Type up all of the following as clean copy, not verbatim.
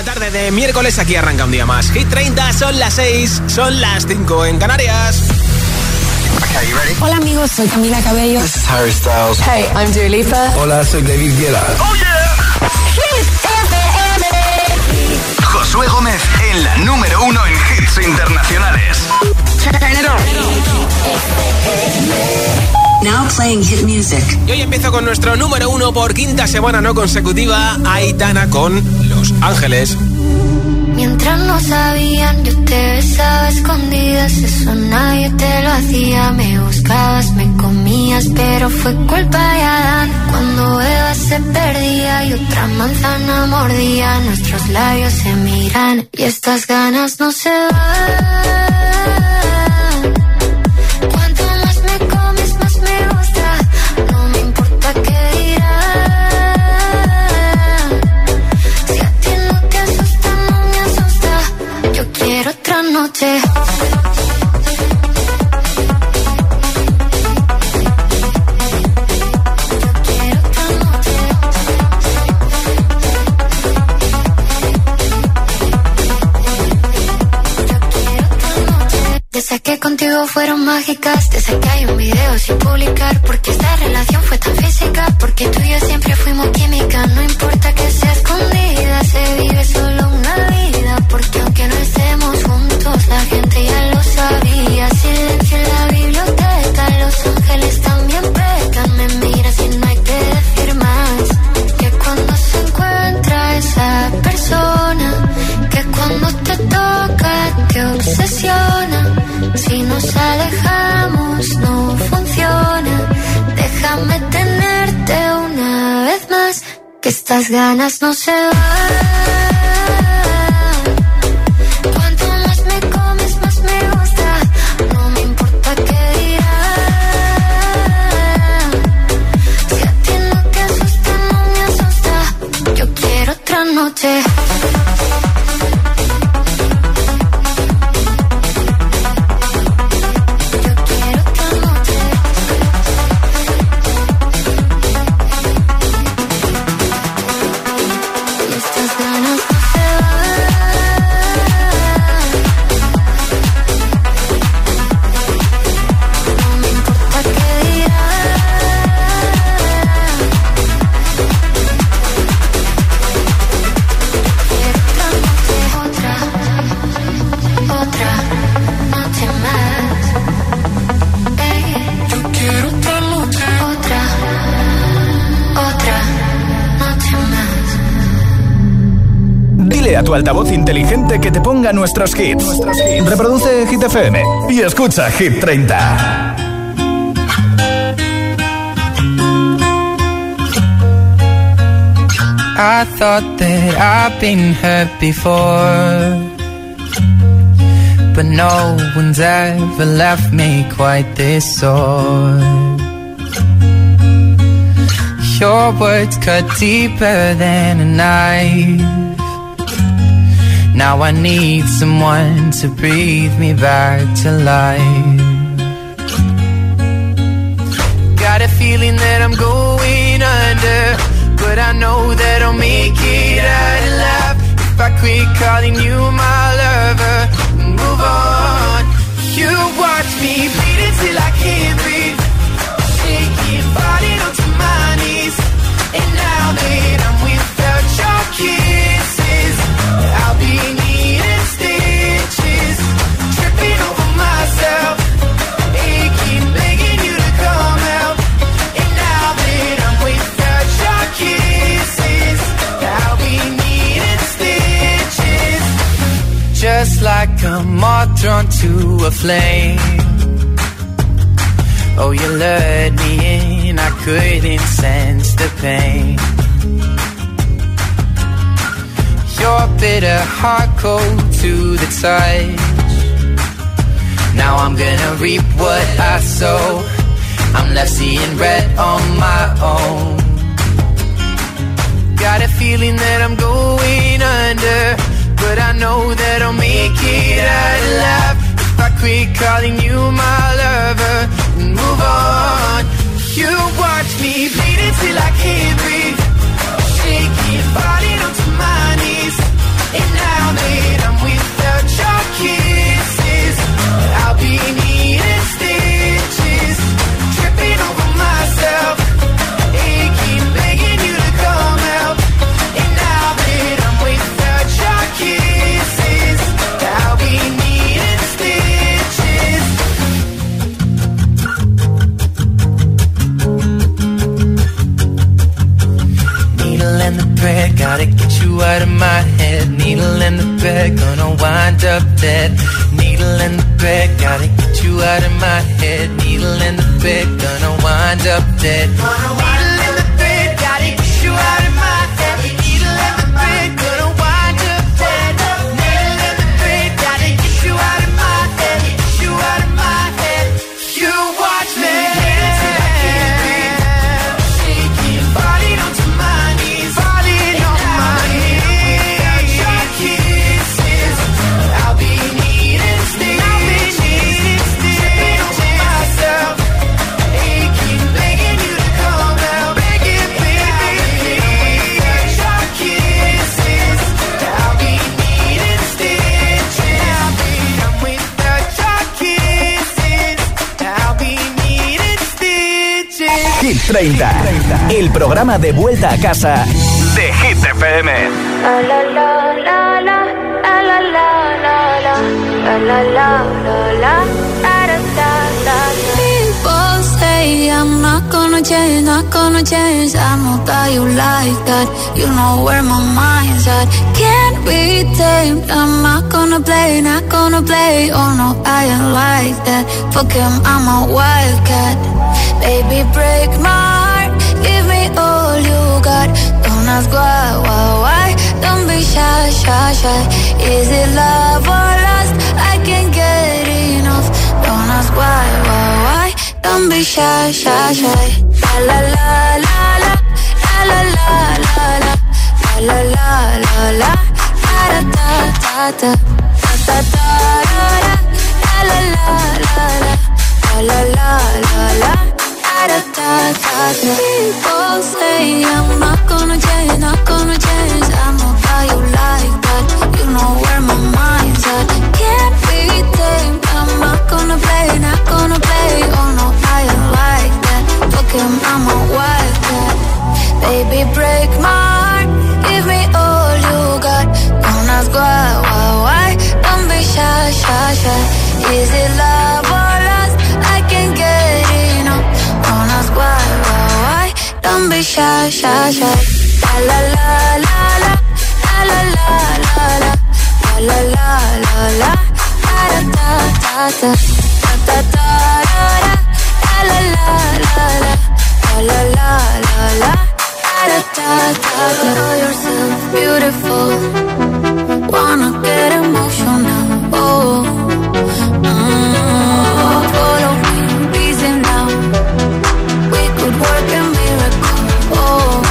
tarde de miércoles, aquí arranca un día más. Hit 30, son las 6, son las 5 en Canarias. Okay, you ready? Hola amigos, soy Camila Cabello. This is Harry Styles. Hey, I'm Dua Lipa. Hola, soy David Guetta. Oh yeah. Hit FM. Josué Gómez en la número 1 en hits internacionales. Turn it on. Now playing hit music. Y hoy empiezo con nuestro número 1 por quinta semana no consecutiva, Aitana con Los Ángeles. Mientras no sabían, yo te besaba a escondidas, eso nadie te lo hacía. Me buscabas, me comías, pero fue culpa de Adán. Cuando Eva se perdía y otra manzana mordía, nuestros labios se miran y estas ganas no se van. Cuanto más me comes, más me gusta, no me importa qué dirán. Si a ti no te asusta, no me asusta, yo quiero otra noche. Desde que contigo fueron mágicas, desde que hay un video sin publicar, porque esta relación fue tan física, porque tú y yo siempre fuimos química. No importa que sea escondida, se vive solo una vida, porque aunque no estemos juntos, la gente ya lo sabía. Silencio en la biblioteca, los ángeles también pecan. Me miras y no hay que decir más, que cuando se encuentra esa persona, que cuando te toca te obsesiona. Si nos alejamos no funciona, déjame tenerte una vez más, que estas ganas no se van. Cuanto más me comes, más me gusta, no me importa qué dirán. Si a ti no te asusta, no me asusta, yo quiero otra noche. A tu altavoz inteligente que te ponga nuestros hits. Reproduce Hit FM y escucha Hit 30. I thought that I've been hurt before, but no one's ever left me quite this sore. Your words cut deeper than a knife. Now I need someone to breathe me back to life. Got a feeling that I'm going under, but I know that I'll make it out alive. If I quit calling you my lover, move on. You watch me bleed until I can't breathe, shaking, falling onto my knees. And now that I'm without your kisses, I'll be needing stitches, tripping over myself, aching, begging you to come out. And now that I'm without your kisses, I'll be needing stitches. Just like a moth drawn to a flame, oh, you lured me in, I couldn't sense the pain. Your bitter heart cold to the touch. Now I'm gonna reap what I sow. I'm left seeing red on my own. Got a feeling that I'm going under, but I know that I'll make it out alive. If I quit calling you my lover, move on. You watch me bleed until I can't breathe, shaking, falling onto my knees. And you out of my head. Needle in the bed, gonna wind up dead. Needle in the bed, gotta get you out of my head. Needle in the bed, gonna wind up dead. Needle in the bed, gotta get you out of my head. Needle in the bed, gonna wind up dead. Needle in the bed, gotta get you out of my head. Get you out of my head. You watch me. Hit 30, el programa de vuelta a casa de Hit FM. La la la la la la la la la la la. People say I'm not gonna change, not gonna change. I know that you like that. You know where my mind's at. Can't be tamed. I'm not gonna play, not gonna play. Oh no, I ain't like that. Fuck him, I'm a wildcat. Baby, break my heart, give me all you got. Don't ask why, don't be shy, shy, shy. Is it love or lust? I can't get enough. Don't ask why, don't be shy, shy, shy. La la la la la, la la la la, la la la la, da da da da, da da da, la la la la, la la la la. People say I'm not gonna change, not gonna change. I know how you like that. You know where my mind's at. Can't be tamed. I'm not gonna play, not gonna play. Oh no, I ain't like that. Fuck him, I'm a wildcat. Baby, break my heart, give me all you got. Don't ask why, don't be shy, shy, shy. Is it love or lust? I can't get enough. Don't ask why, don't be shy, shy, shy. La la la la, la la la la, la la la la, da da da da, da da da, la la la la, la la la la, da da da. Know yourself beautiful, wanna get emotional, oh. Follow me, easy now. We could work a miracle, oh.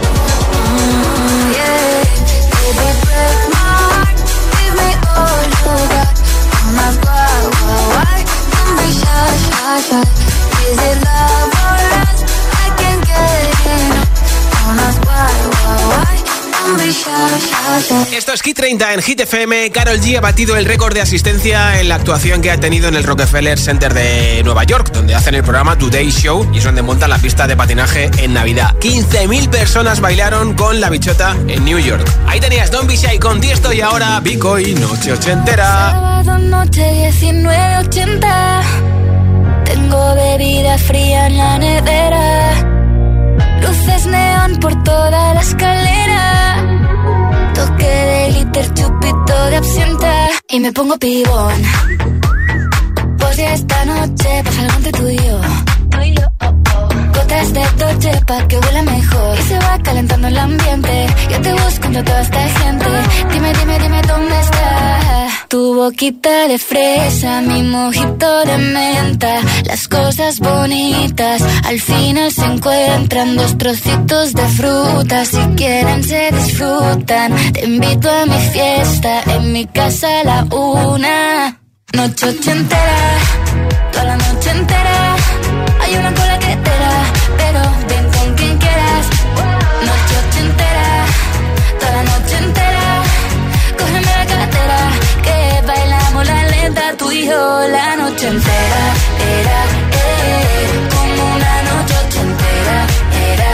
Yeah. Baby, break my heart, give me all you got. Don't ask why, don't be shy, shy, shy. Is it love or lust? I can't get enough. Don't ask why, don't be shy, shy, shy. Esto es Hit 30 en Hit FM. Karol G ha batido el récord de asistencia en la actuación que ha tenido en el Rockefeller Center de Nueva York, donde hacen el programa Today Show y es donde montan la pista de patinaje en Navidad. 15.000 personas bailaron con la bichota en New York. Ahí tenías Don't Be Shy con Tiesto y ahora Vico y Noche Ochentera. Sábado noche 19:80. Tengo bebida fría en la nevera. Luces neón por toda la escalera. Toque de glitter, chupito de absenta. Y me pongo pibón. Pues si esta noche pasa algo entre tú y yo. Gotas de Dolce pa' que huela mejor. Y se va calentando el ambiente. Yo te busco entre toda esta gente. Dime, dime, dime dónde está. Tu boquita de fresa, mi mojito de menta. Las cosas bonitas al final se encuentran. Dos trocitos de fruta, si quieren se disfrutan. Te invito a mi fiesta, en mi casa a la 1. Noche ochentera, toda la noche entera. Hay una cola que te da, pero ven con quien quieras. Noche ochentera, toda la noche entera. Cógeme la cartera, que bailamos la lenta. Tú y yo la noche entera. Era, como una noche ochentera. Era,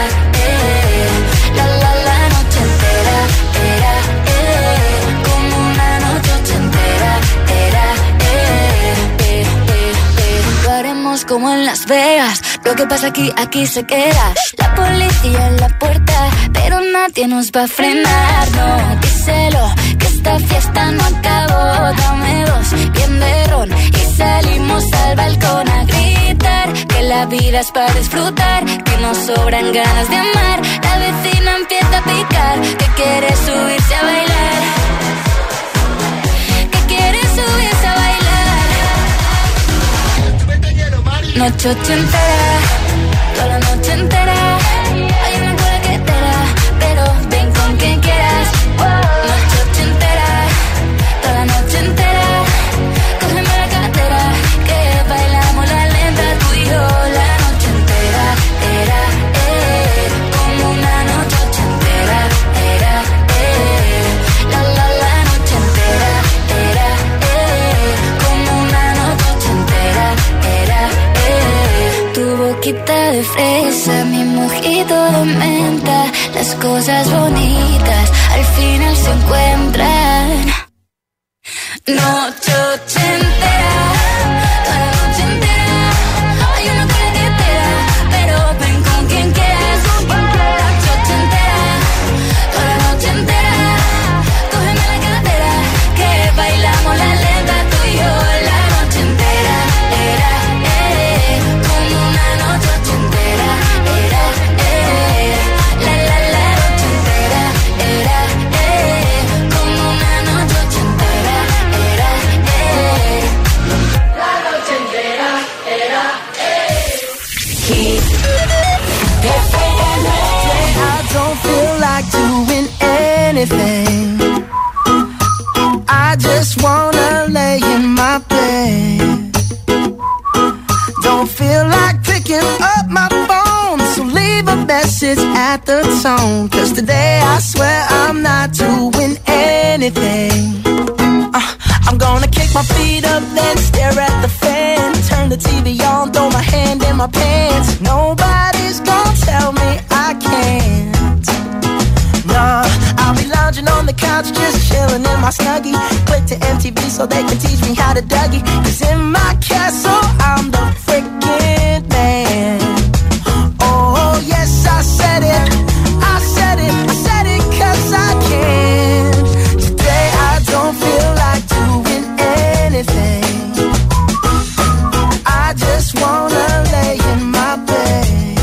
la noche entera. Era, como una noche ochentera. Era, lo haremos como en Las Vegas. Lo que pasa aquí se queda. La policía en la puerta, pero nadie nos va a frenar. No, díselo, que esta fiesta no acabó. Dame dos, bien de ron, y salimos al balcón a gritar. Que la vida es para disfrutar, que nos sobran ganas de amar. La vecina empieza a picar, que quiere subirse a bailar. Que quiere subirse a bailar. Noche ochentera, toda la noche entera. Hay una cola que te da, pero ven con quien quieras. Noche ochentera, toda la noche entera. Cógeme la cartera, que bailamos la lenta tú y yo. La noche entera, era, como una noche ochentera, era, la noche entera, era, como una noche ochentera, era. Tu boquita de fresa, mi mojito de menta. Las cosas bonitas al final se encuentran. Noche ochentera, toda la noche entera. Hay una carretera, pero ven con quien quieras. Noche ochentera, toda la noche entera. Cógeme la cartera, que bailamos la lenta tú y yo. La noche entera, era, como una noche ochentera, era, la noche entera, era, como una noche ochentera, era, la noche entera, era, I don't feel like doing anything. I just wanna lay in my bed. Don't feel like picking up my phone, so leave a message at the tone. 'Cause today I swear I'm not doing anything. I'm gonna kick my feet up, then stare at the fan. Turn the TV on, throw my hand in my pants. Nobody's gonna tell me I can't. Nah, I'll be lounging on the couch, just chilling in my Snuggie. Click to MTV so they can teach me how to Dougie. 'Cause in my castle, I'm the freaking man. Oh, yes, I said it. I said it. I said it 'cause I can. Today I don't feel like doing anything. I just wanna lay in my bed.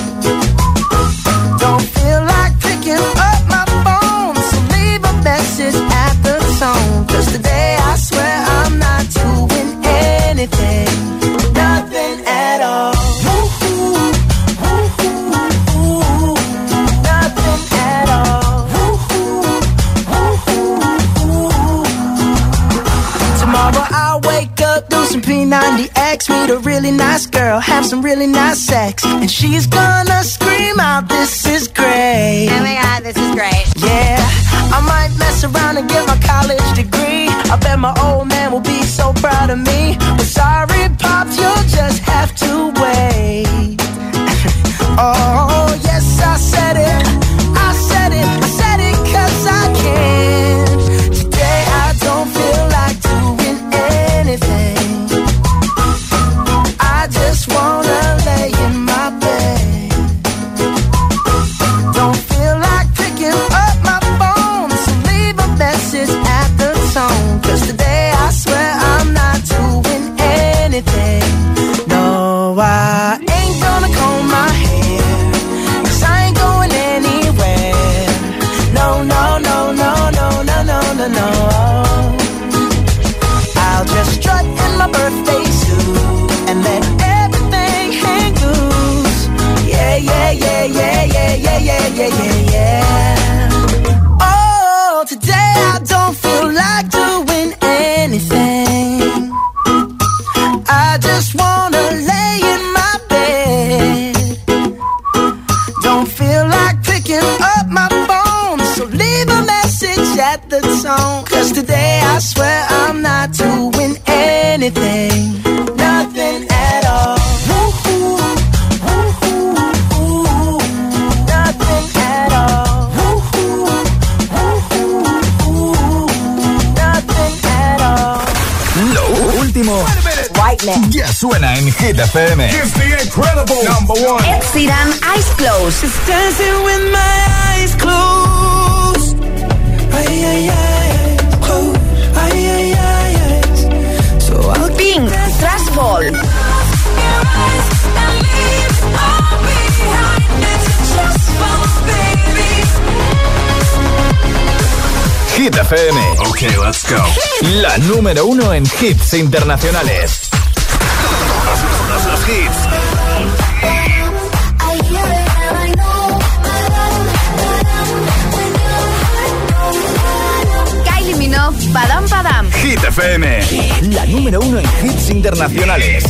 Don't feel like picking up my phone, so leave a message at the tone. 'Cause today I swear I'm not doing anything. Nothing at all. Woo-hoo, woo-hoo, woo-hoo. Nothing at all. Woo-hoo, woo-hoo, woo-hoo. Tomorrow I'll wake up, do some P90X, meet a really nice girl, have some really nice sex, and she's gonna scream out, "This is great." Oh my God, this is great. Yeah, I might mess around and get my college degree. I bet my old man will be so proud of me. But sorry, Pops, you'll just have to wait. Oh, yes, I said it. I said it. I said it 'cause I can. Today I don't feel like doing anything. I just wanna lay in my bed. Don't feel like picking up my phone, so leave a message at the tone. 'Cause today I swear I'm not doing anything. No, I ain't gonna comb my hair, 'cause I ain't going anywhere. No, no, no, no, no, no, no, no, no. I'll just strut in my birthday suit and let everything hang loose. Yeah, yeah, yeah, yeah, yeah, yeah, yeah, yeah, yeah, yeah. Oh, today I don't feel like doing anything. I just wanna lay in my bed. Don't feel like picking up my phone, so leave a message at the tone. 'Cause today I swear I'm not doing anything. Nothing at all. Woo-hoo, woo-hoo, woo-hoo. Nothing at all. Woo-hoo, woo-hoo, woo-hoo. Nothing at all. Lo último White ya suena en Hit FM. It's the incredible #1. Ed Sheeran, Eyes Closed. Just dancing with my eyes closed. Ay, ay, ay, closed. Ay, ay, ay, ay. So I'll Pink, Trash Ball. Hit FM. Okay, let's go. La número 1 en hits internacionales. Los hits. Kylie Minogue, Padam Padam. Hit FM. La número 1 en hits internacionales.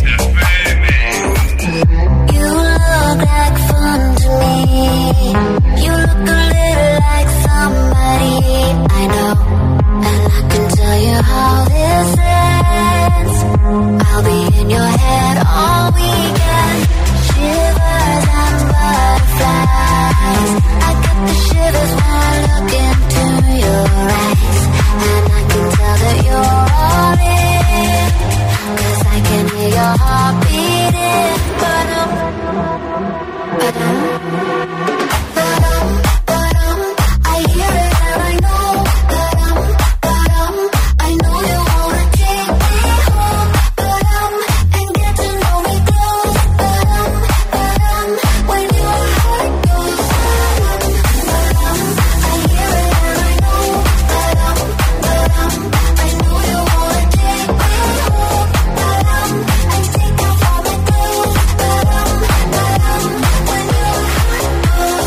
You look like fun to me. You look a little like somebody I know. And I can tell you how this ends. I'll be in your head all weekend. Shivers and butterflies. I get the shivers when I look into your eyes. And I can tell that you're all in. 'Cause I can hear your heart beating. Ba-dum, ba-dum, ba-dum, ba-dum. I hear it and I know. Ba-dum, ba-dum. I know you wanna take me home. Ba-dum, and get to know me close. Ba-dum, ba-dum. When your heart goes. Ba-dum, ba-dum. I hear it and I know. Ba-dum, ba-dum. I know you wanna take me home. Ba-dum, and take off all my clothes. Ba-dum, ba-dum. When your heart goes.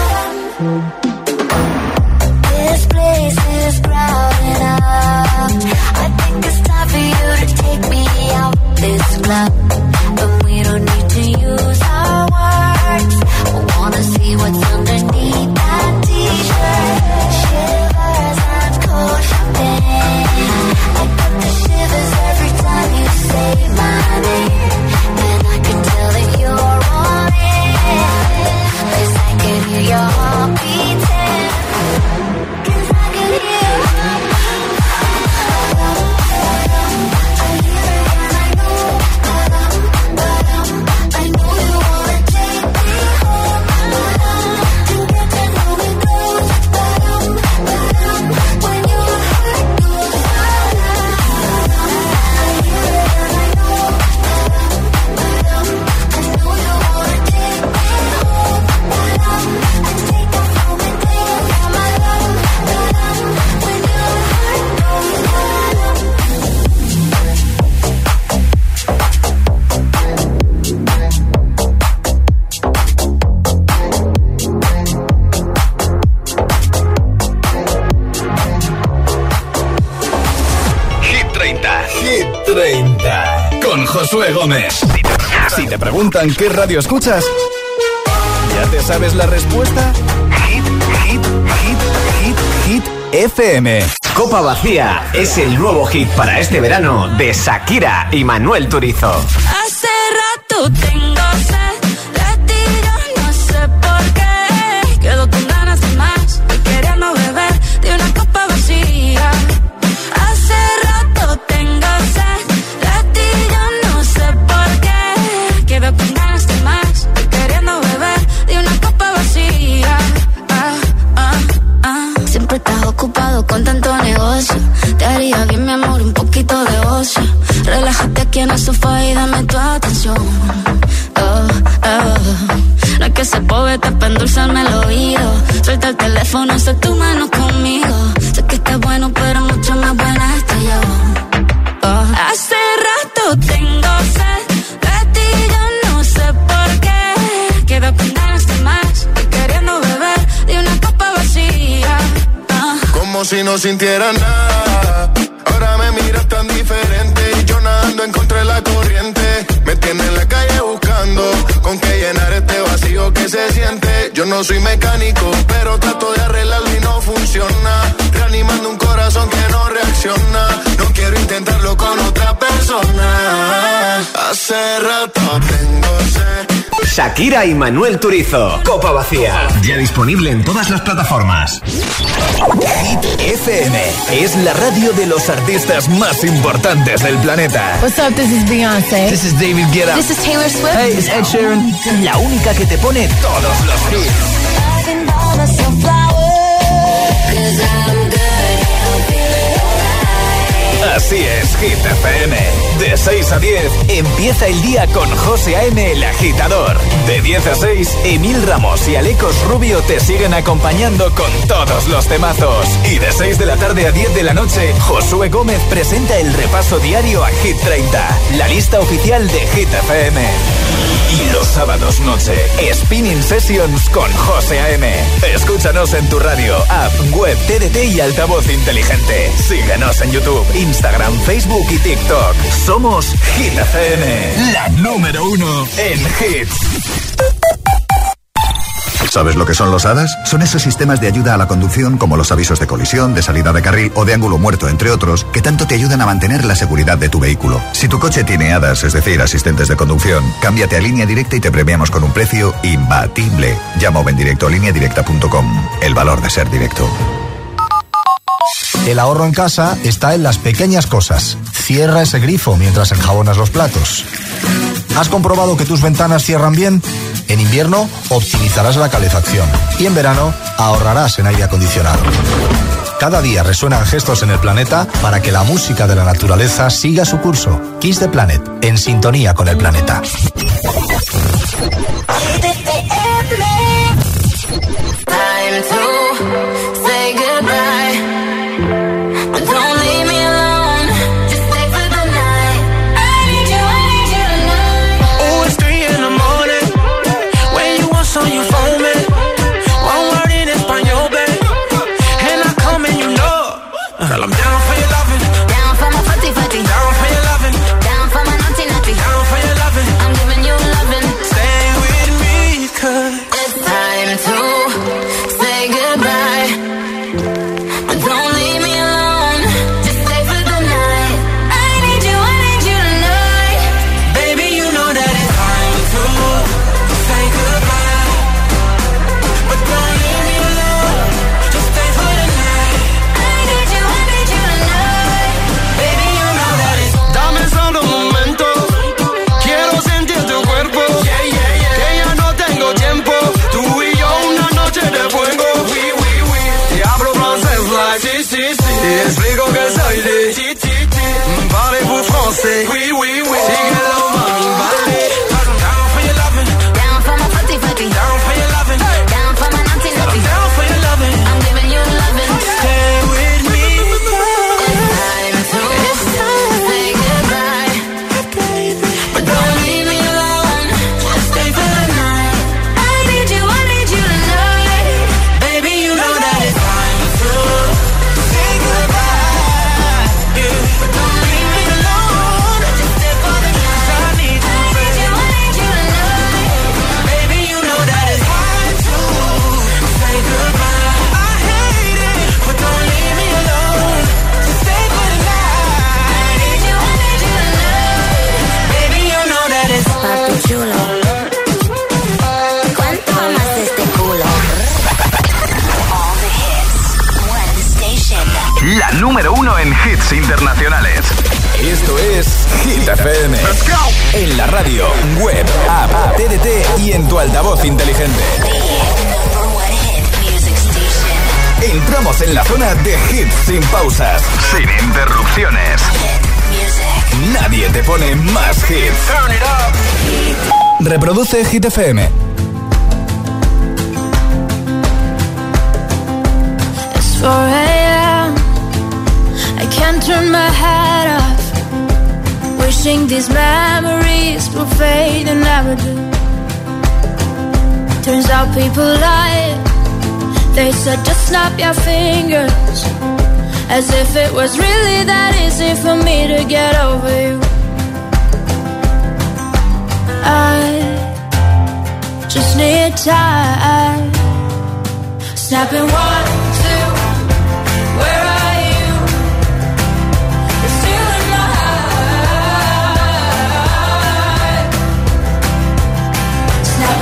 This place is crowded up. I think it's time for you to take me out this club. And we don't need to use our words. I wanna see what's underneath that t-shirt. Shivers and cold champagne. I get the shivers every time you say my name. And I can tell that you're on it. 'Cause I can hear your heart beating. 'Cause I can hear your heart beating. I hear it and I know. I know you wanna take me home. And get to know me close. When your heart goes. I hear it and I know. I know you wanna take me home. And take off all my clothes. When your heart goes. Hit 30. Hit 30. Con Josué Gómez. Si te preguntan qué radio escuchas, ¿ya te sabes la respuesta? Hit FM. Copa Vacía es el nuevo hit para este verano de Shakira y Manuel Turizo. Hace rato tengo sed de ti, yo no sé por qué. Quedo con ganas de más, y queriendo beber de una copa vacía. Hace rato tengo sed de ti, yo no sé por qué. Quedo con ganas de más, y queriendo beber de una copa vacía. Siempre estás ocupado con tanto negocio. Te haría bien, mi amor, un poquito de ocio. Relájate aquí en el sofá y dame tu atención. No es que se poeta para endulzarme el oído. Suelta el teléfono, sé tu mano conmigo. Sé que estás bueno, pero mucho más buena estoy yo. Hace rato tengo sed de ti, yo no sé por qué. Quedo con ganas de más, y queriendo beber de una copa vacía. Como si no sintiera nada. Ahora me miras tan diferente. Y yo nadando en contra de la corriente. Me tienes en la calle buscando con qué llenar este vacío que se siente. Yo no soy mecánico, pero trato de arreglarlo y no funciona. Reanimando un corazón que no reacciona. No quiero intentarlo con otra persona. Hace rato tengo sed. Shakira y Manuel Turizo. Copa vacía. Ya disponible en todas las plataformas. Hit FM es la radio de los artistas más importantes del planeta. What's up, this is Beyoncé. This is David Guetta. This is Taylor Swift. Hey, it's Ed Sheeran. La única que te pone todos los hits. Así es, Hit FM. De 6 a 10, empieza el día con José A.M. el Agitador. De 10 a 6, Emil Ramos y Alecos Rubio te siguen acompañando con todos los temazos. Y de 6 de la tarde a 10 de la noche, Josué Gómez presenta el repaso diario a Hit 30, la lista oficial de Hit FM. Y los sábados noche, Spinning Sessions con José A.M. Escúchanos en tu radio, app, web, TDT y altavoz inteligente. Síguenos en YouTube, Instagram, Facebook y TikTok. Somos Hit FM, la número 1 en hits. ¿Sabes lo que son los HADAS? Son esos sistemas de ayuda a la conducción como los avisos de colisión, de salida de carril o de ángulo muerto, entre otros, que tanto te ayudan a mantener la seguridad de tu vehículo. Si tu coche tiene HADAS, es decir, asistentes de conducción, cámbiate a Línea Directa y te premiamos con un precio imbatible. Llama o ven directo a lineadirecta.com. El valor de ser directo. El ahorro en casa está en las pequeñas cosas. Cierra ese grifo mientras enjabonas los platos. ¿Has comprobado que tus ventanas cierran bien? En invierno optimizarás la calefacción y en verano ahorrarás en aire acondicionado. Cada día resuenan gestos en el planeta para que la música de la naturaleza siga su curso. Kiss the Planet, en sintonía con el planeta. Time to say goodbye. Don't leave me alone. Just stay for the night. I need you tonight. Oh, it's 3 in the morning. When you want some, you phone me. One word in Espanol, babe. And I come and you know. Girl, I'm down for your loving. Down for my footy footy. Down for your loving. Down for my naughty naughty. Down for your loving. I'm giving you loving. Stay with me, 'cause it's time to say goodbye. Don't leave me alone. Just stay for the night. I need you tonight. baby, you know that it's time to say goodbye. But don't leave me alone. Just stay for the night. I need you tonight. Baby, you know that it's. Dame solo un momento. Quiero sentir tu cuerpo. Que ya no tengo tiempo. Tú y yo una noche de fuego. Te hablo francés like sí. Te explico que soy de Parlez-vous français. Síguelo, mami, vale. Down for your loving. Down for my footy footy. Down for your loving. Down for my naughty naughty. Down for your loving. I'm giving you loving. Stay with me. It's time to say goodbye. But don't leave me alone. Just stay for the night. I need you tonight. Baby, you know that it's time to say goodbye. Yeah. But don't leave me alone. Just stay for the night. I need you, baby. I need you tonight. Baby, you know that it's time to say goodbye. I hate it, but don't leave me alone. Just stay for the night. I need you tonight. Baby, you know that it's Papi chulo, ¿cuánto amas este culo? All the hits, one station. La número 1 en hits internacionales. Esto es Hit FM. Let's go. En la radio, web, app, TDT y en tu altavoz inteligente. The number one hit music station. Entramos en la zona de hits sin pausas, Sin interrupciones. Hit music. nadie te pone más hits. Turn it up. Reproduce Hit FM. It's 4 a.m. I can't turn my head off. Wishing these memories will fade and never do. Turns out people lie. They said just snap your fingers, as if it was really that easy for me to get over you. I just need time. Snapping 1, 2, where are you? You're still in my heart. Snapping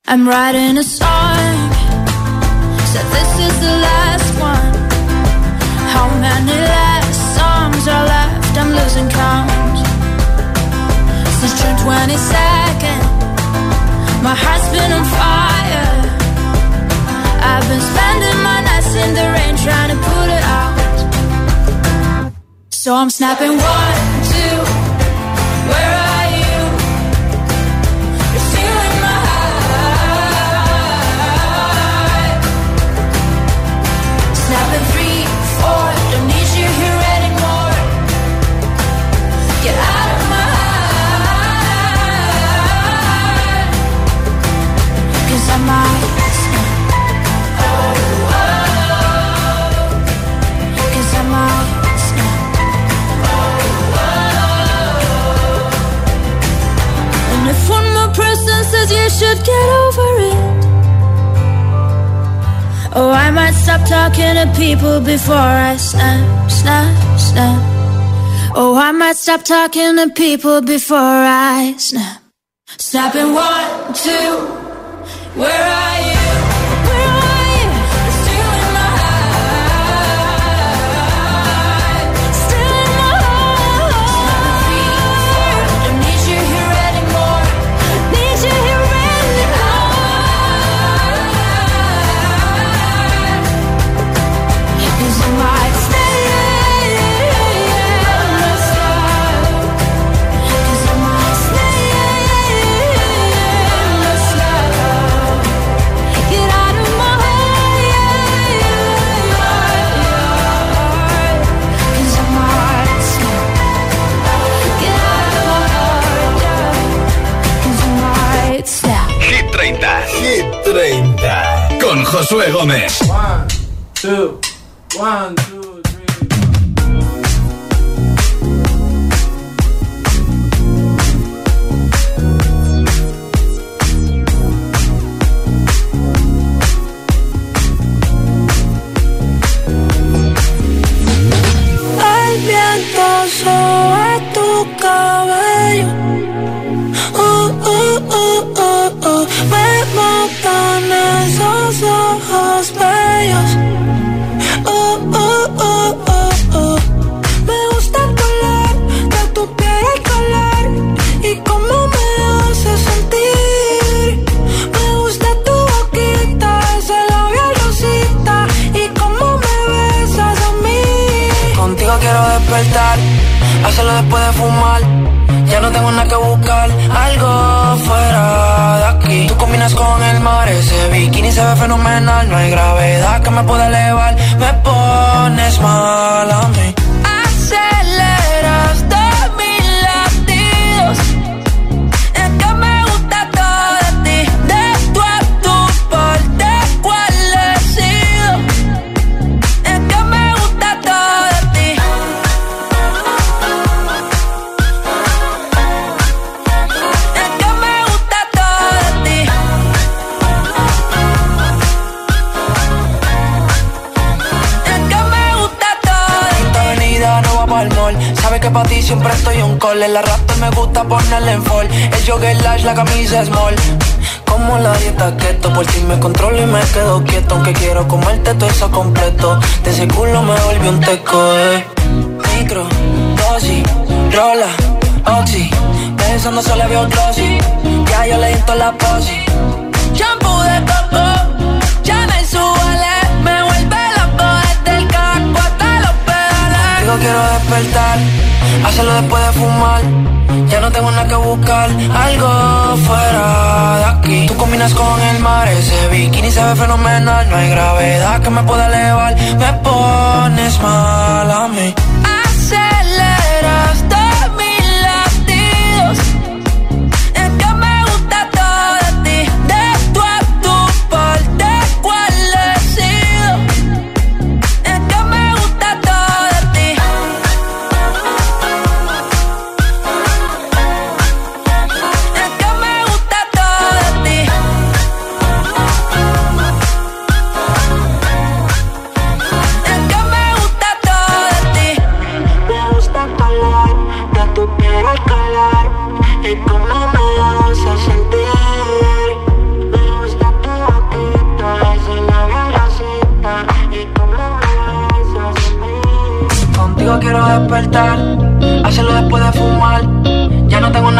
I'm writing a song, said this is the last one. How many last songs are left? I'm losing count. Since June 22nd, my heart's been on fire. I've been spending my nights in the rain trying to put it out. So I'm snapping 1, 2, where are you? You're stealing my heart. Snapping 3, 4, don't need you here anymore. Get out of my heart. 'Cause I might snap. Oh, oh. 'Cause I might snap. And if one more person says you should get over it, oh, I might stop talking to people before I snap, snap, snap. Oh, I might stop talking to people before I snap. Snapping 1, 2, where are you? Where are you? You're stealing my heart. Stealing my heart. Don't need you here anymore. Need you here anymore. 'Cause I might stay in the sky. 'Cause I might stay in the sky. Get out of my heart. 'Cause I might snap. Get out of my heart. 'Cause I might snap. Hit 30. Hit 30. Con Josué Gómez. 1, 2, 1, 2, 3. El viento sobre tu cabello. Me matan esos ojos bellos. Me gusta el color de tu piel, el color y cómo me hace sentir. Me gusta tu boquita, ese labial rosita y cómo me besas a mí. Contigo quiero despertar, hacerlo después de fumar. Ya no tengo nada que buscar, algo fuera de aquí. Tú combinas con el mar, ese bikini se ve fenomenal. No hay gravedad que me pueda elevar, me pones mal a mí. Aceleras todos mis latidos. Es que me gusta todo de ti. De tú a tú, por de cuál he sido. Es que me gusta todo de ti. Es que me gusta todo de ti. Es que me gusta todo de ti. Esta avenida no va pa'l mall. Sabes que pa' ti siempre estoy on call. El arrastre me gusta ponerle en fall. El jogger large, la camisa small. Como la dieta keto, por ti me controlo y me quedo quieto. Aunque quiero comerte todo eso completo. De ese culo me volvió un teco, Micro, dosis, rola, oxi. Pensando solo veo glossy. Ya yo le di toda la posi. Shampoo de coco, ya me suele. Me vuelve loco desde el casco hasta los pedales. Contigo quiero despertar, hacerlo después de fumar. Ya no tengo nada que buscar, algo fuera de aquí. Tú combinas con el mar, ese bikini se ve fenomenal. No hay gravedad que me pueda elevar, me pones mal a mí. Aceleras todos mis latidos. Es que me gusta todo de ti. De tú a tú, por de cuál he sido. Es que me gusta todo de ti. Es que me gusta todo de ti. Es que me gusta todo de ti. Me gusta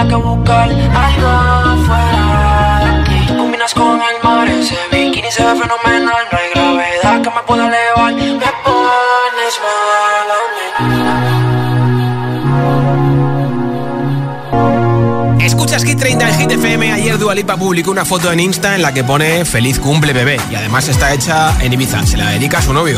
nada que buscar, algo fuera de aquí. Combinas con el mar, ese bikini se ve fenomenal. No hay gravedad que me pueda elevar. Me pones mal a mí. Escuchas Hit 30 en Hit FM. Ayer Dua Lipa publicó una foto en Insta en la que pone feliz cumple bebé. Y además está hecha en Ibiza. Se la dedica a su novio.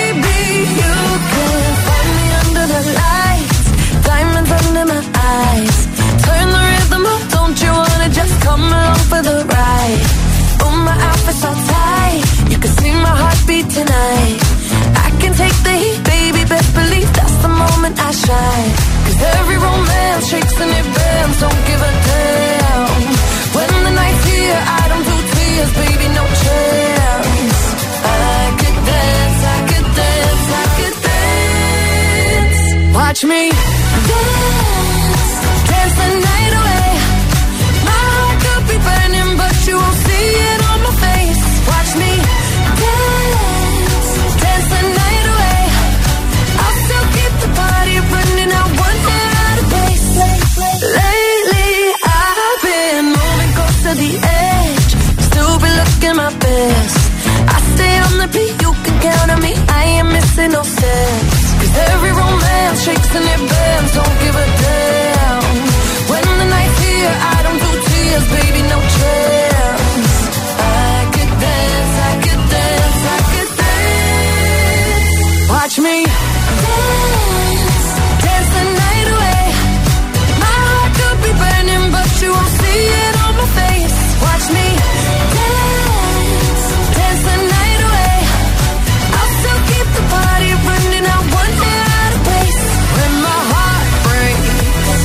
Under my eyes, turn the rhythm up, don't you wanna just come along for the ride? Oh, my outfit's all tight, you can see my heartbeat tonight. I can take the heat, baby, best believe that's the moment I shine. 'Cause every romance shakes and it bends, don't give a damn. When the night's here, I don't do tears, baby, no chance. I could dance, I could dance, I could dance. Watch me dance, dance the night away. My heart could be burning, but you won't see it on my face. Watch me dance, dance the night away. I'll still keep the party running out one hair at a pace. Lately, I've been moving close to the edge, still be looking my best. I stay on the beat, you can count on me, I ain't missing no steps. 'Cause every romance shakes and it bends, don't give a damn. When the night's here, I don't do tears, baby, no chance. I could dance, I could dance, I could dance. Watch me dance, dance the night away. My heart could be burning, but you won't see it on my face. Watch me dance, dance the night away. I'll still keep the party running out one hair at a pace. When my heart breaks,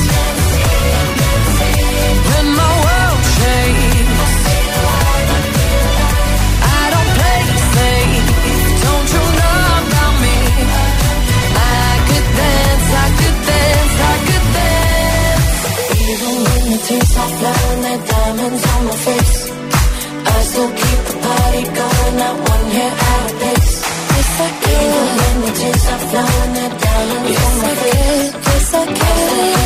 when my world shakes, I don't play safe, don't you know about me? I could dance, I could dance, I could dance. Even when the tears are flowing, they're diamonds on my face, I still keep the party going at one hair at a pace. Yes, I can. Even when the tears are flowing, they're diamonds on my face. Yes, I can.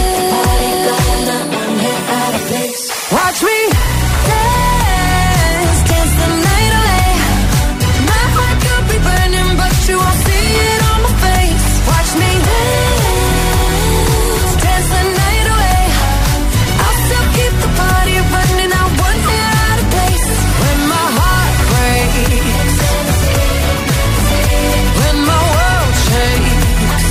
Watch me dance, dance the night away. My heart could be burning, but you won't see it on my face. Watch me dance, dance the night away. I'll still keep the party running out one hair at a pace. When my heart breaks, when my world shakes,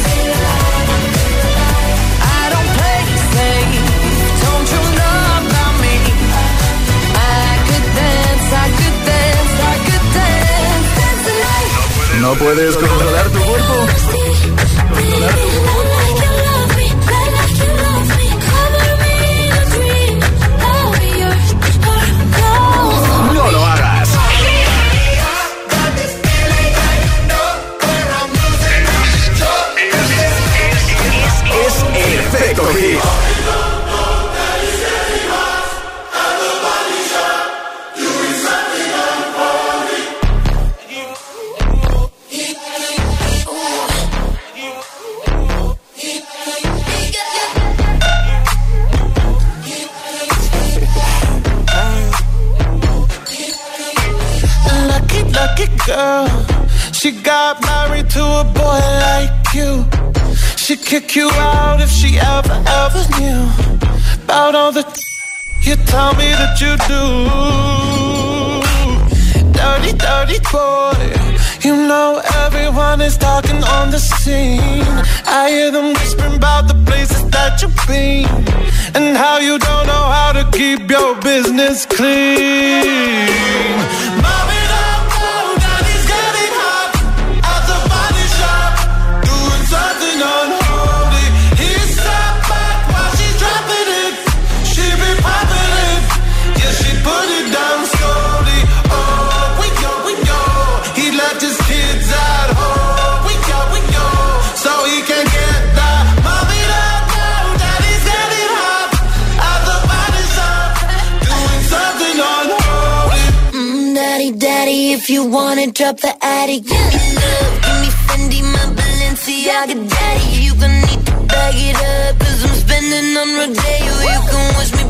I don't play safe, don't you know about me? I could dance, I could dance, I could dance, dance the night. ¿No puedes controlar tu cuerpo? Controlar tu cuerpo. No lo hagas. Es el efecto hit. Lucky girl, she got married to a boy like you. She'd kick you out if she ever knew about all the you tell me that you do. Dirty, dirty boy, you know everyone is talking on the scene. I hear them whispering about the places that you've been and how you don't know how to keep your business clean. Mommy, if you wanna drop the attic, give me love, give me Fendi, my Balenciaga daddy. You gon' need to bag it up, 'cause I'm spending on Rodeo. You can wish me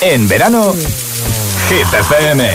En verano, Hit FM.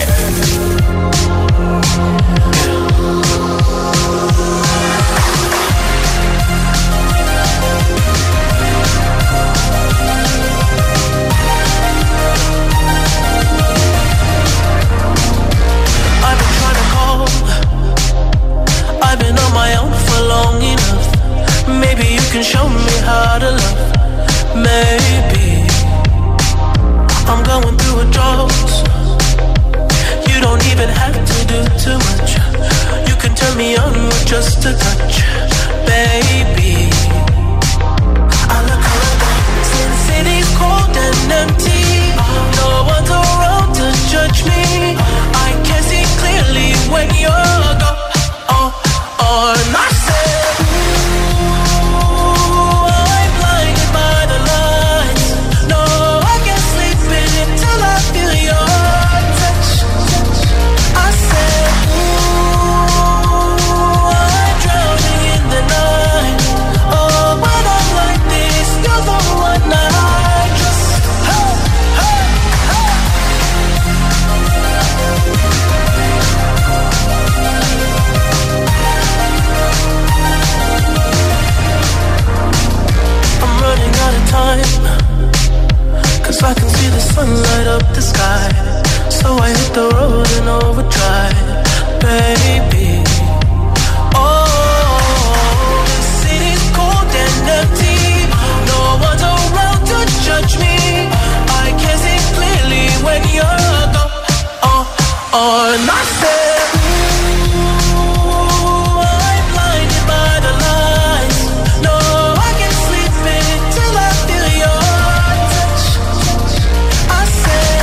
Maybe you can show me how to love. Maybe I'm going through a drought. You don't even have to do too much. You can turn me on with just a touch, baby. I look around since city's cold and empty. No one's around to judge me. I can see clearly when you're gone. And I said, I can see the sun light up the sky, so I hit the road in overdrive, baby. Oh, the city's cold and empty. No one's around to judge me. I can see clearly when you're gone. And I said, ooh, I'm blinded by the lights. No, I can't sleep until I feel your touch. I said,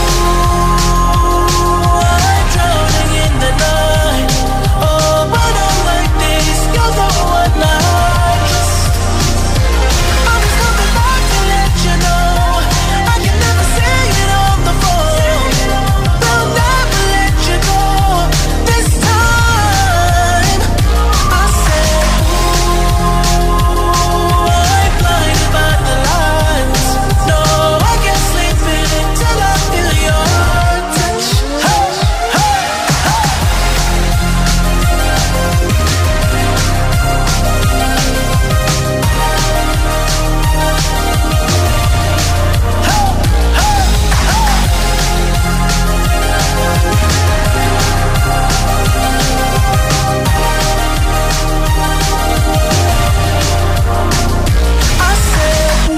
ooh, I'm drowning in the night. Oh, when I'm like this, you're the one I trust. I'm just coming back to let you know I can never say it on the phone. They'll never let you go this time. I said, ooh, I'm blinded by the lights. No, I can't sleep until I feel your touch. Hey, hey, hey. I said,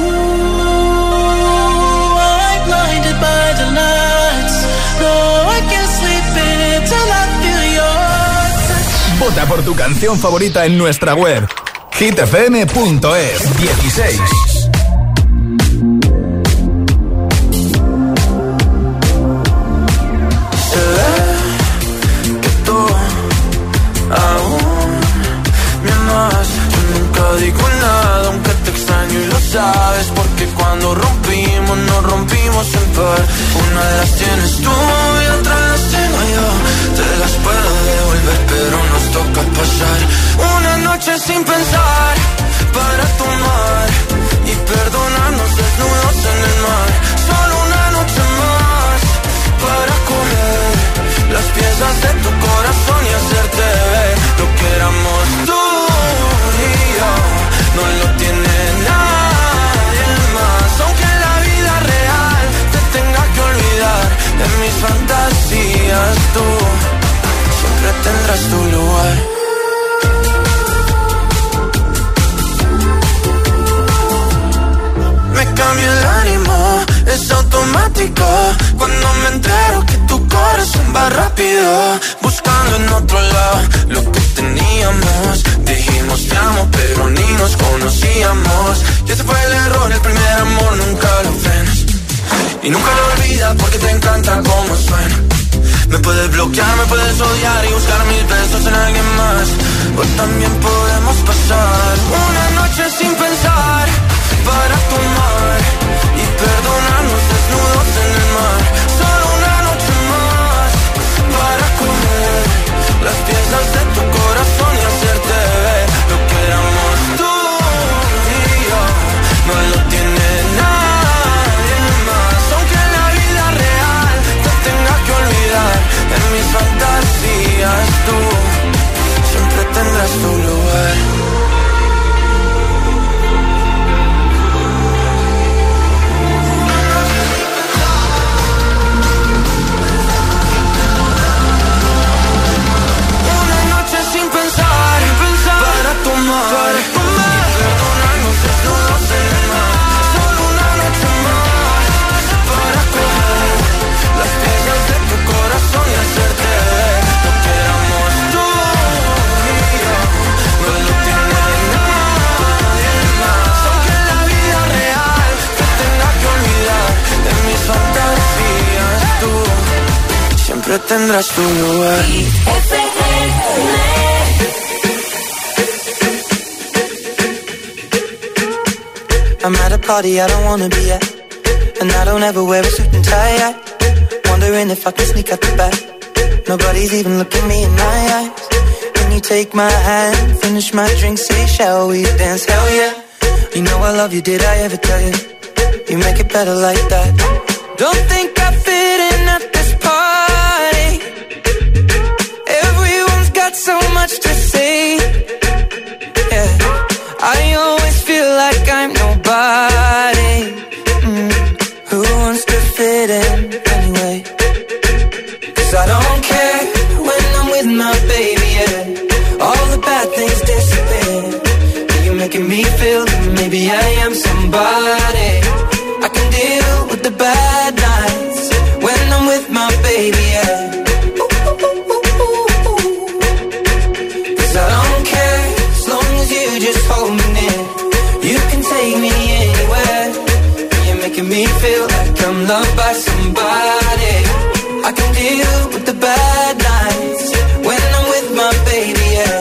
ooh, I'm blinded by the lights. No, I can't sleep until I feel your touch. Vota por tu canción favorita en nuestra web, hitfm.es 16. Que tú aún me amas. Yo nunca digo nada, aunque te extraño y lo sabes. Porque cuando rompimos, nos rompimos en par. Una de las tienes tú y otra las tengo yo. Te las puedo devolver, pero nos toca pasar una noche sin pensar, para tomar y perdonarnos desnudos en el mar. Solo una noche más para coger las piezas de tu corazón y hacerte ver lo que éramos tú y yo. No lo tiene nadie más, aunque en la vida real te tenga que olvidar. En mis fantasías tú siempre tendrás tu lugar. Me cambia el ánimo, es automático. Cuando me entero que tu corazón va rápido, buscando en otro lado lo que teníamos. Dijimos te amo, pero ni nos conocíamos. Y ese fue el error, el primer amor nunca lo frenas. Y nunca lo olvidas porque te encanta cómo suena. Me puedes bloquear, me puedes odiar y buscar mil besos en alguien más. O también podemos pasar una noche sin pensar, para tomar y perdonarnos desnudos en el mar. Solo una noche más para comer las piezas de tu corazón y hacerte ver lo que éramos tú y yo. No lo tiene nadie más, aunque en la vida siempre tendrás tu lugar. I'm at a party I don't wanna be at, and I don't ever wear a suit and tie. Wondering if I can sneak out the back. Nobody's even looking me in my eyes. Can you take my hand, finish my drink, say shall we dance? Hell yeah. You know I love you, did I ever tell you? You make it better like that. Don't think I fit in at this party. Everyone's got so much to say. Yeah, I always feel like I'm nobody. Who wants to fit in anyway? 'Cause I don't care when I'm with my baby, yeah. All the bad things disappear. You're making me feel that maybe I am somebody. I can deal with the bad nights when I'm with my baby, yeah. 'Cause I don't care as long as you just hold me near. You can take me anywhere. You're making me feel like I'm loved by somebody. I can deal with the bad nights when I'm with my baby, yeah.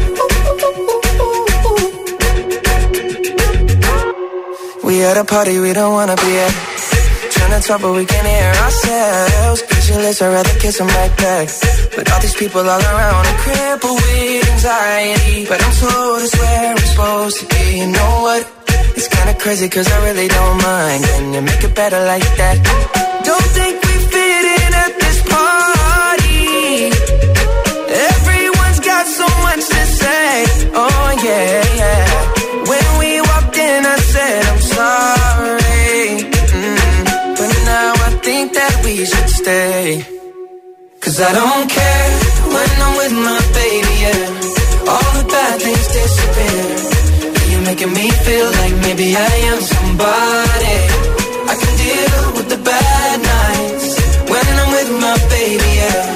We at a party we don't wanna be at. Trying to talk but we can't hear ourselves. Pictureless, I'd rather kiss them right back. But all these people all around are crippled with anxiety. But I'm told it's where I'm supposed to be. You know what? It's kinda crazy 'cause I really don't mind. Can you make it better like that? Don't think we fit in at this party. Everyone's got so much to say. Oh yeah, yeah. When we walked in I said I'm sorry. But now I think that we should stay. 'Cause I don't care when I'm with my baby, yeah. All the bad things disappear. You're making me feel like maybe I am somebody. I can deal with the bad nights when I'm with my baby, yeah.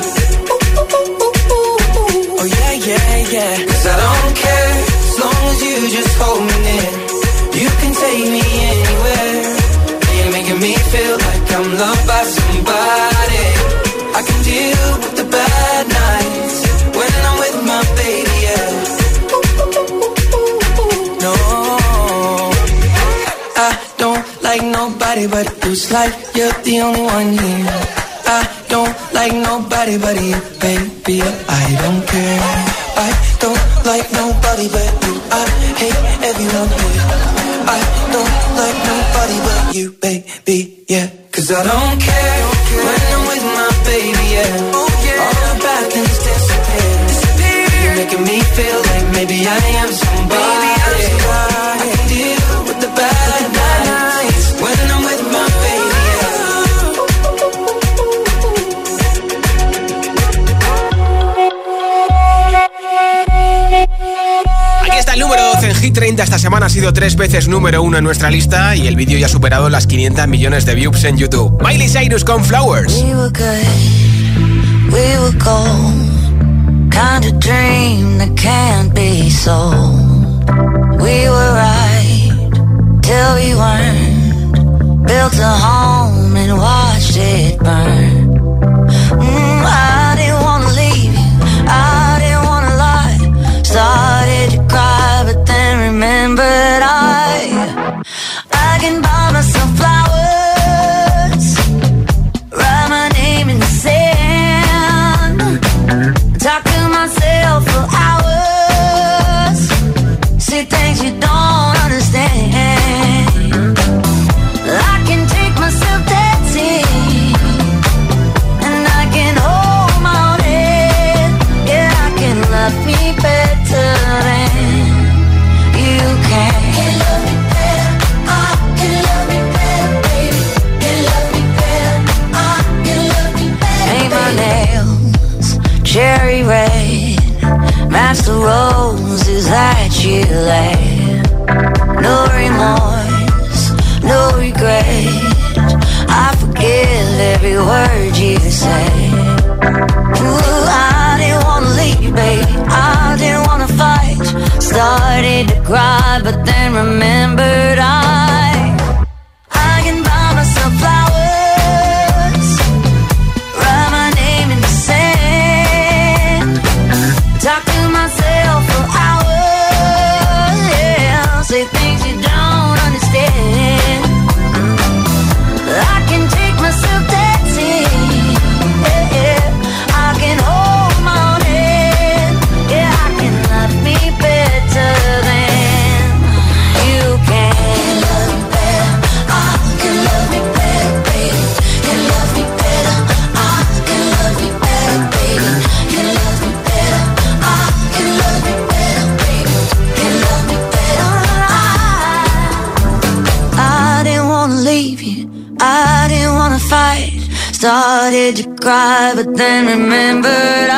Oh yeah, yeah, yeah. 'Cause I don't care as long as you just hold me near. You can take me anywhere. You're making me feel like I'm loved by somebody. I can deal with the bad nights when I'm with my baby, yeah. No, I don't like nobody but you. It's like you're the only one here. I don't like nobody but you, baby. I don't care. I don't like nobody but you. I hate everyone here. I don't like nobody but you, baby, yeah. 'Cause I don't care when I'm with my baby, yeah. All the bad things disappear. You're making me feel like maybe I am somebody. I can deal with the bad nights when I'm with my baby, yeah. Aquí está el número 12 en Hit 30. Esta semana ha sido 3 veces número 1 en nuestra lista y el vídeo ya ha superado las 500 millones de views en YouTube. Miley Cyrus con Flowers. We were good, we were gold. Kind of dream that can't be sold. We were right till we weren't. Built a home and watched it burn. I didn't wanna leave you, I didn't wanna lie. Started to cry but then remembered I can buy myself flowers, write my name in the sand, talk to myself for hours, say things you don't understand. I can take myself dancing, and I can hold my own head. Yeah, I can love me better than you can. Can love me better, I can love me better, baby. Can love me better, I can love me better. Paint my nails cherry red, match the roses that you laid. No remorse, no regret, I forgive every word you say. Ooh, I didn't wanna leave, baby, I didn't wanna fight. Started to cry, but then remembered I can buy myself flowers, write my name in started to cry, but then remembered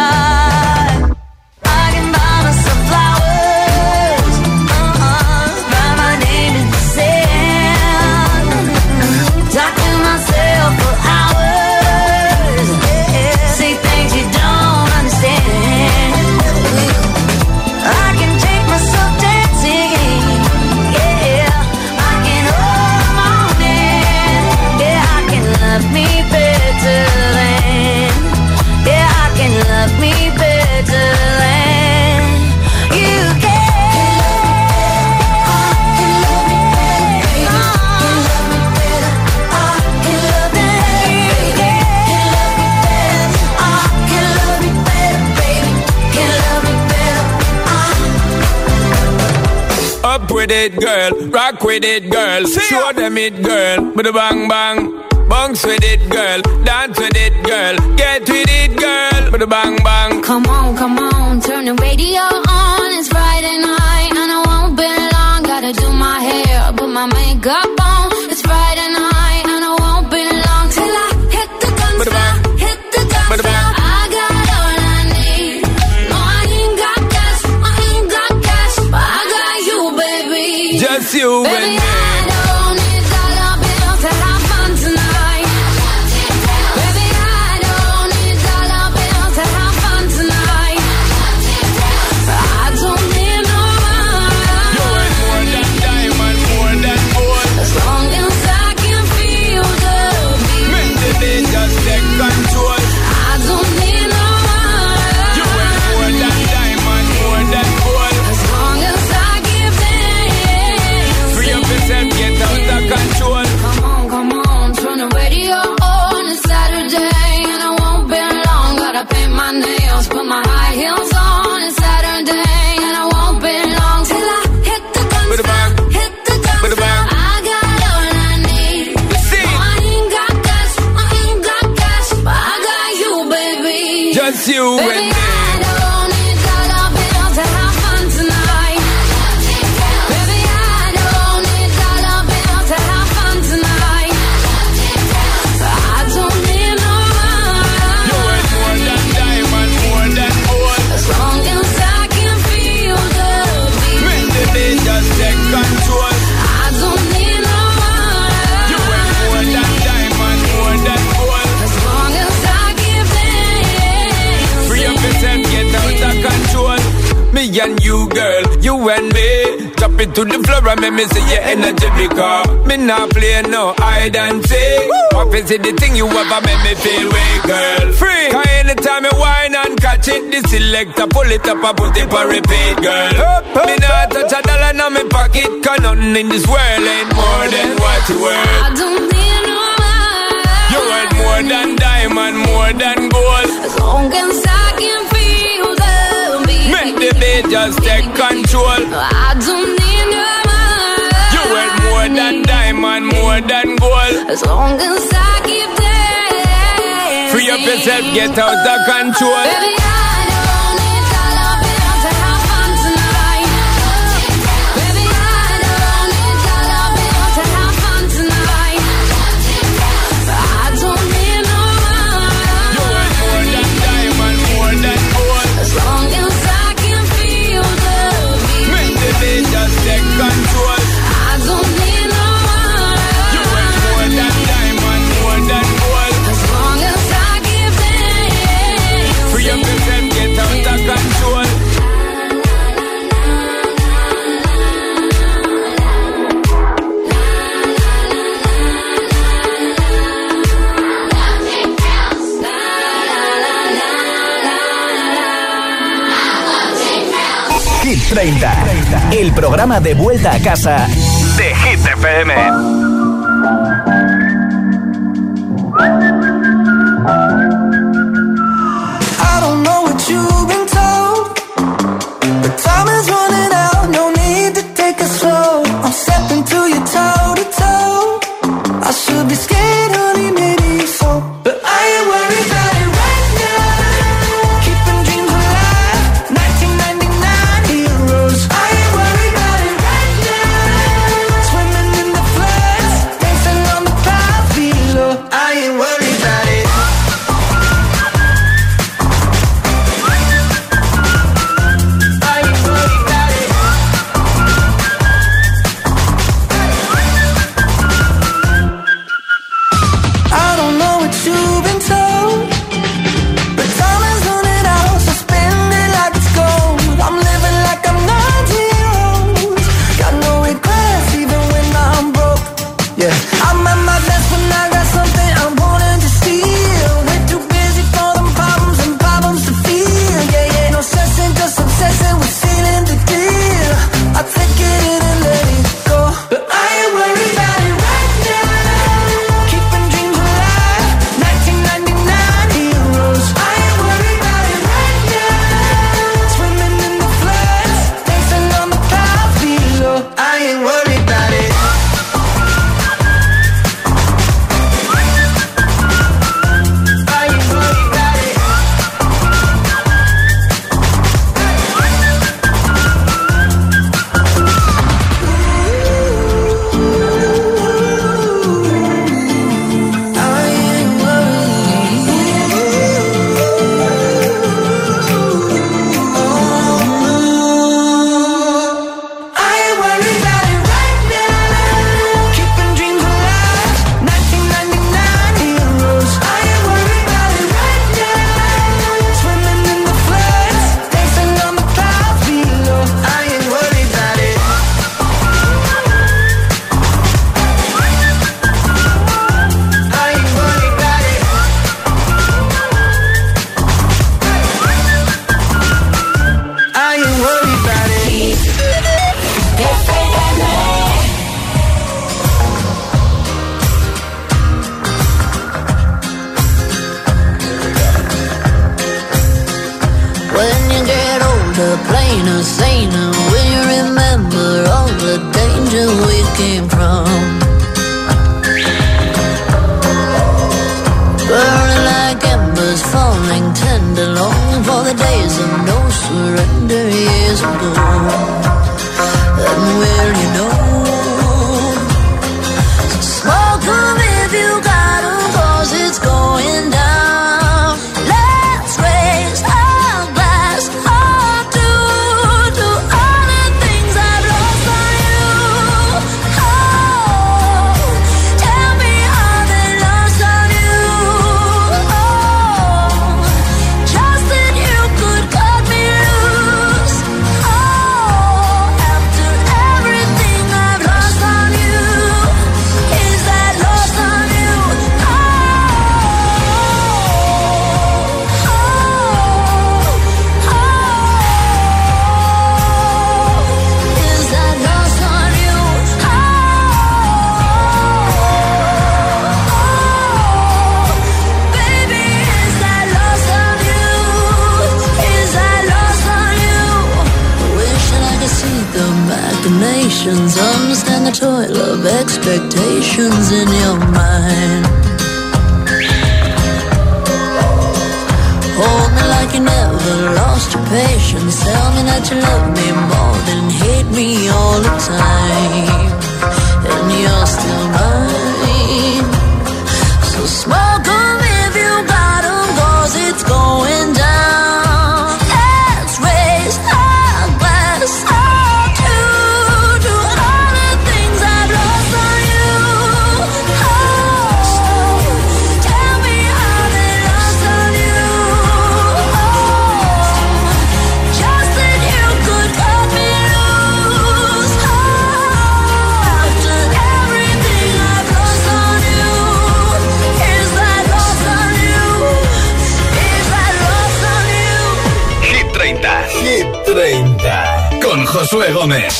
I can buy myself flowers, write my name in the sand, talk to myself for hours, say things you don't understand. I can take myself dancing, yeah, I can hold my own hand, yeah, I can love me better than, yeah, I can love me better than you can. Up with it, girl. Rock with it, girl. Show them it, girl. With a bang bang. Bounce with it, girl. Dance with it, girl. Get with it, girl. With a bang bang. Come on, turn the radio on. It's Friday night and I won't be long. Gotta do my hair, put my makeup on. It's Friday night and I won't be long till I hit the guns down, hit the guns down. I got all I need. No, I ain't got cash, but I got you, baby. Just you baby, and me. I don't need dollar bills to have fun tonight. Baby, I don't need dollar bills to have fun tonight. I don't need no money. You ain't more than diamond, more than gold. As long as I can feel the beat. Make the beat just take control. I don't need no money. You ain't more than diamond, more than gold. As long as I give in. Free up yourself, get out of control. Come on, turn the radio on. It's Saturday and I won't be long. Gotta paint my nails, put my high heels on. It's Saturday and I won't be long till I hit the guns down, hit the guns down. I got all I need. No, I ain't got cash, but I got you, baby. Just you Baby, and me. I don't need dollar bills to have fun tonight. Baby, I don't need dollar bills to have fun tonight. I don't need no You money. ain't more than diamond, more than gold. As long as I can feel the beat. Make the beat just take control. I don't need no You ain't money. more than diamond, more than gold. As long as I give in. Free up yourself, get out of control. Me and you, girl, you and me. Drop it to the floor and make me see your energy because me not play no hide and seek. What is it the thing you ever make me feel way, girl? Free. Cause anytime you whine and catch it, the selector pull it up and put it for repeat, girl. Me not touch a dollar in my pocket, cause nothing in this world ain't more than what you worth. I don't need no money. You worth more than diamond, more than gold. As long as I can feel the beat. Make the beat just take control. I don't need no money. You worth more than diamond, more than gold. As long as I keep dancing. Free up yourself, get out of control. Baby, I don't need dollar bills to have fun tonight. Baby, I don't need dollar bills to have fun tonight. I don't need no money. You worth more than diamond, more than gold. As long as I can feel the beat. Make the beat just take control. I don't need no money. You worth more than diamond, more than gold. As long as I give in. Free up yourself, get out of control. Hit 30, el programa de vuelta a casa de Hit FM. I don't know what you've been told, but time is running out, no need to take it slow. I'm stepping to you toe to toe. I should be scared, honey, maybe so, but I ain't worried about it right now. Keeping dreams alive, 1999 heroes. I ain't worried about it right now. Swimming in the floods, dancing on the Yeah, I'm at my best when I got something I'm wanting to steal. We're too busy for them problems and problems to feel. Yeah, yeah, no stressing, just obsessing with sealing the deal. I take it in and let it go, but I ain't worried about it right now. Keeping dreams alive, 1999 heroes. I ain't worried about it right now. Swimming in the floods, dancing on the clouds below. I ain't worried about it. Plainer, saner, when you remember all the danger we came from. Burning like embers, falling tender, longing for the days of no surrender years ago. And will you know? So smoke 'em if you got 'em, 'cause it's going down. Let's raise our glass up to all the things I've lost on you. Oh, tell me how they lost on you. Oh, just that you could cut me loose. Oh, after everything I've lost on you, is that lost on you? Oh, is that lost on you? Baby, is that lost on you? Is that lost on you? Wishing I could see the machinations, understand the toil of expectations in your mind. Hold me like you never lost your patience. Tell me that you love me more than hate me all the time. And you're still mine. So smoke 'em if you got 'em, 'cause it's going down. Let's raise our glass up to all the things I've lost on you. Oh, tell me how they lost on you. Oh, just that you could cut me loose. Oh, after everything I've lost on you, is that lost on you? Is that lost on you? Hit 30. Hit 30. Con Josué Gómez.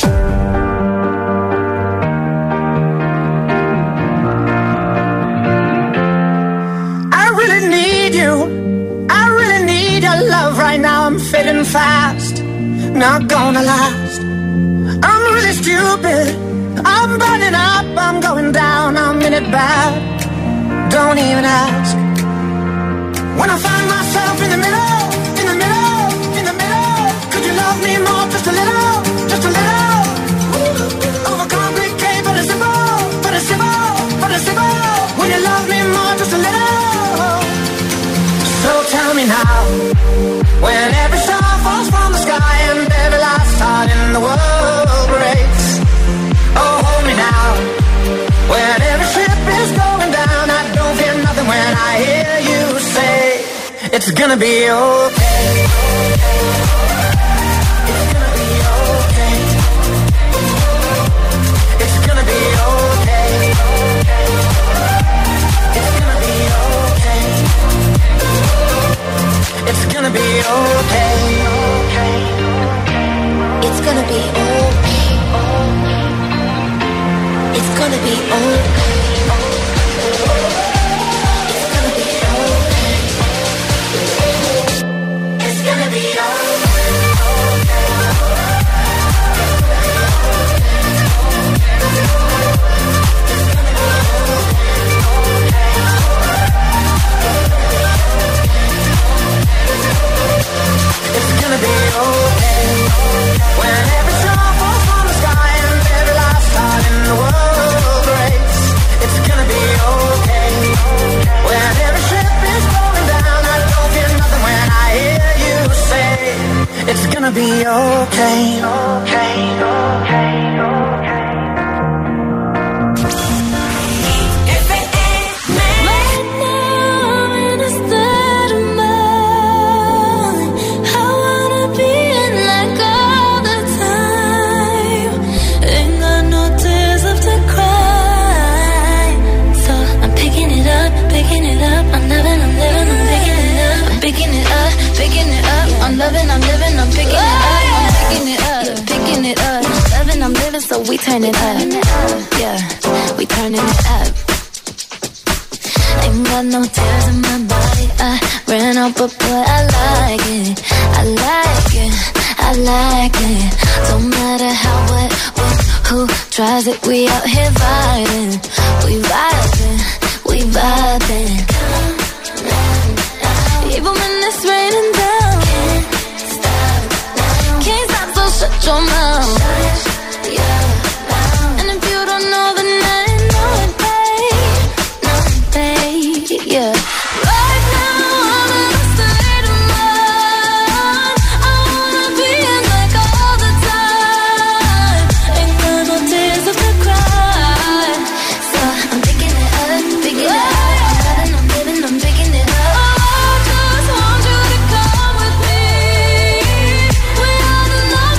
I really need you. I really need your love right now. I'm fading fast, not gonna last. I'm really stupid. I'm burning up. I'm going down. I'm in it bad. Don't even ask. When I find myself in the middle, in the middle, in the middle, could you love me more, just a little, just a little? Overcomplicate, but it's simple, but it's simple, but it's simple. Will you love me more, just a little? So tell me now, when every star falls from the sky and every last heart in the world breaks. Oh, hold me now, when every ship is going down. I don't fear nothing when I hear you say, it's gonna be okay. It's gonna be okay. It's gonna be okay. be okay. I'm loving, I'm living, I'm picking it up. I'm picking it up, yeah, picking it up. Loving, I'm living, so we turn it up. Yeah, we turning it up. Ain't got no tears in my body. I ran out, but boy, I like it. I like it, I like it. Don't matter how, what, who tries it. We out here vibing, we vibing, we vibing. Even when it's raining down. Shut your mouth. And if you don't know, then I know it, babe. Yeah. Right now, I'm in a state of mind. I wanna be in like all the time. Ain't got no tears left to cry. So I'm picking it up, picking it up. I'm living, I'm picking it up. I just want you to come with me. We are the love.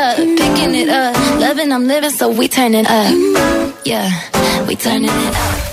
I'm living, so we turning up. Yeah, we turning it up.